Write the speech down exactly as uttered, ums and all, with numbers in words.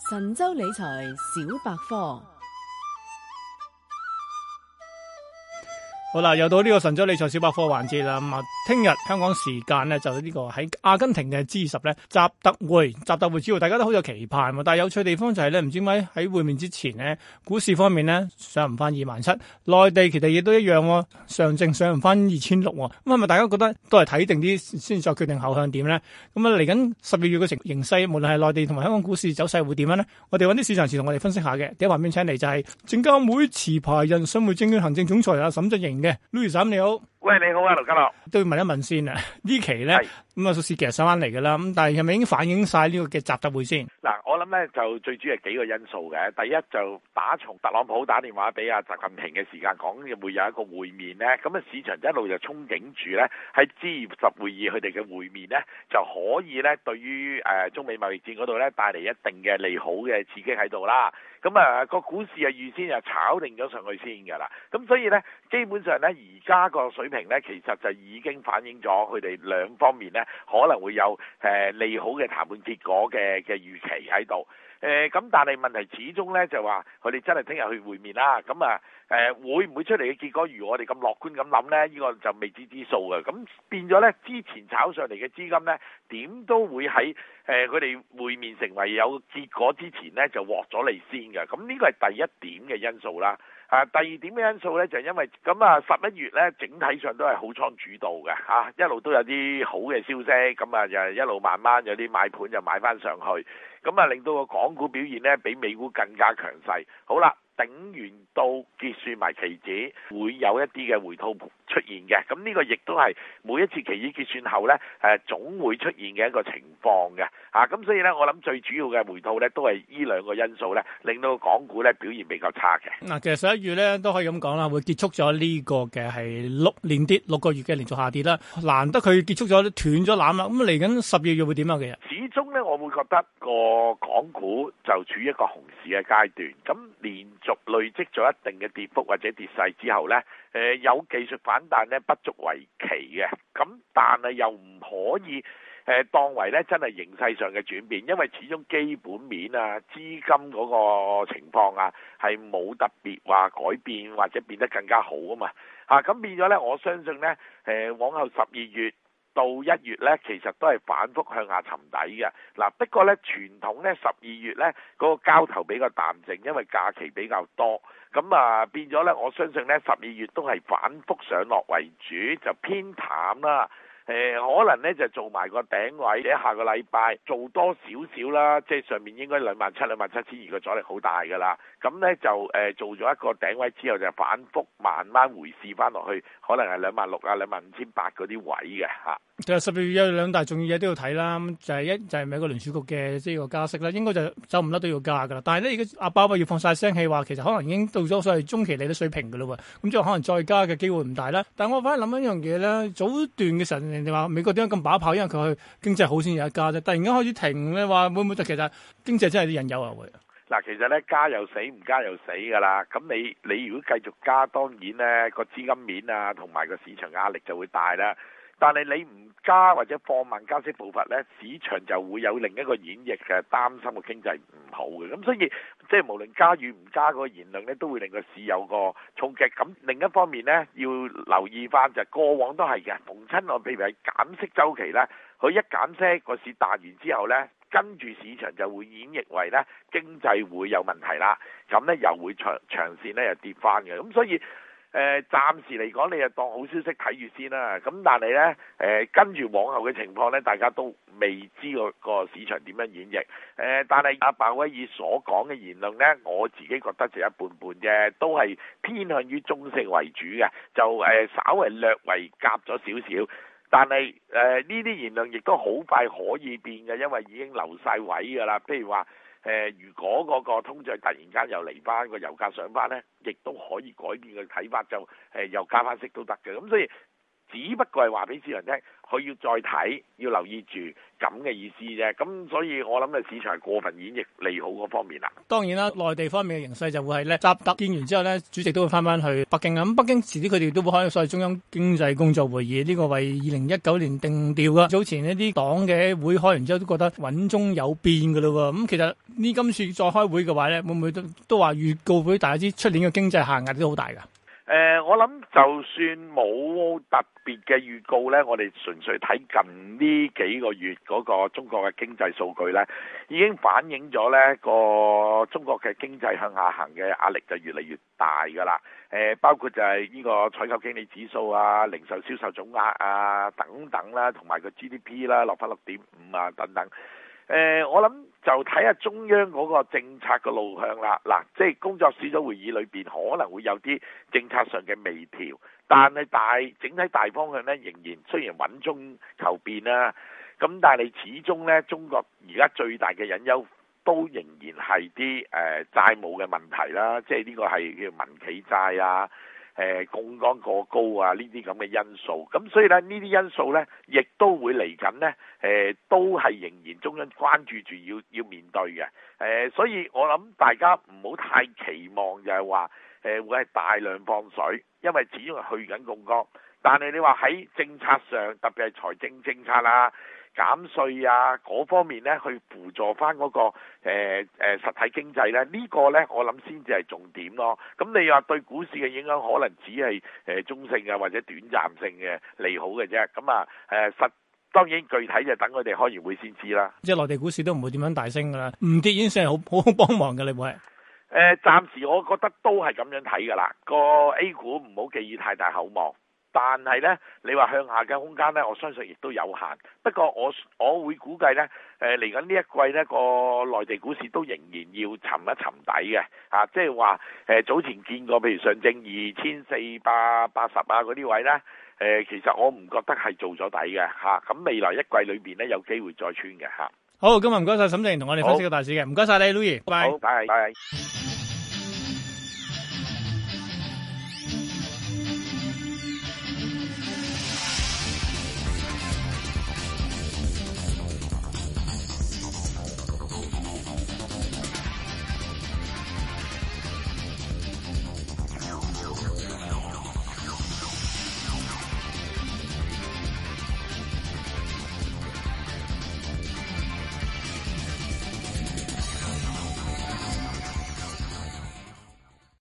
神州理財小百科。 好啦，又到呢個神州理財小百科環節啦。咁啊，聽日香港時間咧就呢個喺阿根廷嘅 G 十咧習特會，習特會主要大家都好有期盼喎。但係有趣地方就係咧，唔知點解喺會面之前呢，股市方面咧上唔翻二萬七，內地其實亦都一樣喎，上證上唔翻二千六。咁係咪大家覺得都係睇定啲先再決定後向點咧？咁啊嚟緊十二月嘅形形勢，無論係內地同埋香港股市走勢會點樣咧？我哋揾啲市場人士同我哋分析下嘅。第一旁邊請嚟就係證監會持牌人信匯證券行政總裁阿沈振盈嘅 Louis 沈你好。 喂，你好啊，盧家樂。 都要問一問先啊，呢期咧咁啊，數市其實上翻嚟㗎啦。咁但係係咪已經反映晒呢個嘅習特會先？ 嗱，我諗咧就最主要係幾個因素嘅。第一就打從特朗普打電話俾阿習近平嘅時間講會有一個會面咧，咁啊市場一路就憧憬住咧喺 G 十會議佢哋嘅會面咧就可以咧對於誒中美貿易戰嗰度咧帶嚟一定嘅利好嘅刺激喺度啦。咁啊個股市啊預先就炒定咗上去先㗎啦。咁所以咧基本上咧而家個水平咧其實就已經反映咗佢哋兩方面咧可能會有誒利好嘅談判結果嘅嘅預期喺度。誒咁但係問題始終咧就話佢哋真係聽日去會面啦。咁啊誒會唔會出嚟嘅結果如我哋咁樂觀咁諗咧？呢個就未知之數嘅。咁變咗咧之前炒上嚟嘅資金咧點都會喺誒佢哋會面成為有結果之前咧就獲咗嚟先嘅。咁呢個係第一點嘅因素啦。啊，第二點嘅因素咧就係因為咁啊十一月咧整體上都係好倉主導嘅嚇、啊，一路都有啲好嘅消息，咁啊就一路慢慢有啲買盤就買翻上去，咁啊令到個港股表現咧比美股更加強勢。好啦，頂完到結算埋期指會有一啲嘅回吐出現嘅，咁呢個亦都係每一次期指結算後咧誒總會出現嘅一個情況嘅嚇，咁、啊、所以咧我諗最主要嘅回吐咧都係呢兩個因素咧令到港股咧表現比較差嘅。 嗱，其實十一月咧都可以咁講啦，會結束咗呢個嘅係六連跌六個月嘅連續下跌啦，難得佢結束咗斷咗纜啦，咁嚟緊十二月會點啊？其實始終咧我會覺得個港股就處於一個熊市嘅階段，咁連續累積咗一定嘅跌幅或者跌勢之後咧，誒、呃、有技術反彈咧不足為奇嘅，咁但係又唔可以誒、呃、當為咧真係形勢上嘅轉變，因為始終基本面啊、資金嗰個情況啊係冇特別話改變或者變得更加好啊嘛，啊咁變咗咧，我相信咧誒、呃、往後十二月到一月咧，其實都係反覆向下沉底嘅。嗱，不過咧傳統咧十二月咧嗰個交投比較淡靜，因為假期比較多，咁啊變咗咧，我相信咧十二月都係反覆上落為主，就偏淡啦。誒、呃、可能咧就做埋個頂位，或者下個禮拜做多少少啦，即係上面應該兩萬七、兩萬七千二個阻力好大㗎啦。咁咧就誒、呃、做咗一個頂位之後，就反覆慢慢回試翻落去，可能係兩萬六啊、兩萬五千八嗰啲位嘅嚇。 其實十二月有兩大重要嘢都要睇啦，就係、是、一就係、是、美國聯儲局嘅即係個加息啦，應該就走唔甩都要加㗎啦。但係咧而家阿鮑威要放晒聲氣話，其實可能已經到咗所謂中期利率水平㗎啦喎，咁即係可能再加嘅機會唔大啦。但係我反而諗一樣嘢咧，早段嘅時候人哋話美國點解咁把炮，因為佢經濟好先有得加啫。突然間開始停咧，話會唔會就其實經濟真係啲隱憂啊會？ 嗱，其實咧加又死，唔加又死㗎啦。咁你你如果繼續加，當然咧個資金面啊同埋個市場壓力就會大啦。但係你唔加或者放慢加息步伐咧，市場就會有另一個演繹嘅，擔心個經濟唔好嘅。咁所以即係無論加與唔加嗰個言論咧，都會令個市有個衝擊。咁另一方面咧，要留意翻就係過往都係嘅，逢親我譬如係減息週期咧，佢一減息個市彈完之後咧，跟住市場就會演繹為咧經濟會有問題啦。咁咧又會長長線咧又跌翻嘅。咁所以誒、呃、暫時嚟講，你就當好消息睇住先啦。咁但係咧，誒、呃、跟住往後嘅情況咧，大家都未知個個市場點樣演繹。誒、呃，但係阿鮑威爾所講嘅言論咧，我自己覺得就一半半啫，都係偏向於中性為主嘅，就誒、呃、稍為略為夾咗少少。但係誒呢啲言論亦都好快可以變嘅，因為已經留晒位㗎啦。譬如話，誒、呃，如果嗰個通脹突然間又嚟翻，個油價上翻咧，亦都可以改變嘅睇法，就誒、呃、又加翻息都得嘅。咁所以只不過係話俾市場聽，佢要再睇，要留意住咁嘅意思啫。咁所以我諗嘅市場係過分演繹利好嗰方面啦。 當然啦，內地方面嘅形勢就會係咧，習特見完之後咧，主席都會翻翻去北京啊。咁北京遲啲佢哋都會開所謂中央經濟工作會議，呢、這個為二零一九年定調噶。早前一啲黨嘅會開完之後都覺得穩中有變噶咯喎。咁其實呢今次再開會嘅話咧，會唔會都都話預告俾大家知出年嘅經濟下壓都好大噶？ 誒、呃，我諗就算冇特別嘅預告呢，我哋純粹睇近呢幾個月嗰個中國嘅經濟數據呢，已經反映咗呢個中國嘅經濟向下行嘅壓力就越嚟越大㗎啦。誒、呃，包括就係呢個採購經理指數啊、零售銷售總額啊等等啦，同埋個 G D P 啦落翻六點五啊等等。誒、呃，我諗就睇下中央嗰個政策嘅路向啦。嗱，即係工作小組會議裏邊可能會有啲政策上嘅微調，但係大整體大方向咧，仍然雖然穩中求變啦，咁但係始終咧，中國而家最大嘅隱憂都仍然係啲誒債務嘅問題啦，即係呢個係叫民企債啊。誒槓桿過高啊，呢啲咁嘅因素，咁所以咧呢啲因素咧，亦都會嚟緊呢，誒都係仍然中央關注住要要面對嘅。誒，所以我諗大家唔好太期望就係話誒會係大量放水，因為始終係去緊槓桿。但係你話喺政策上，特別係財政政策啦、減稅啊嗰方面咧，去輔助翻嗰、那個誒誒、呃呃、實體經濟咧，這個、呢個咧我諗先至係重點咯。咁你話對股市嘅影響，可能只係誒、呃、中性啊或者短暫性嘅利好嘅啫。咁啊誒實當然具體就等佢哋開完會先知啦。 即係內地股市都唔會點樣大升噶啦，唔跌已經算係好好幫忙嘅，你會？ 誒，暫時我覺得都係咁樣睇噶啦。個 A 股唔好寄予太大厚望。但係呢，你話向下嘅空間呢，我相信亦都有限。不過我我會估計呢，誒嚟緊呢一季呢個內地股市都仍然要沉一沉底嘅，啊，即係話誒早前見過，譬如上證二千四百八十啊嗰啲位呢，誒、呃、其實我唔覺得係做咗底嘅嚇。咁、啊、未來一季裏邊呢，有機會再穿嘅嚇。 好，今日唔該晒沈振盈同我哋分析個大市嘅，唔該晒你 Louis，拜拜。 好，拜拜。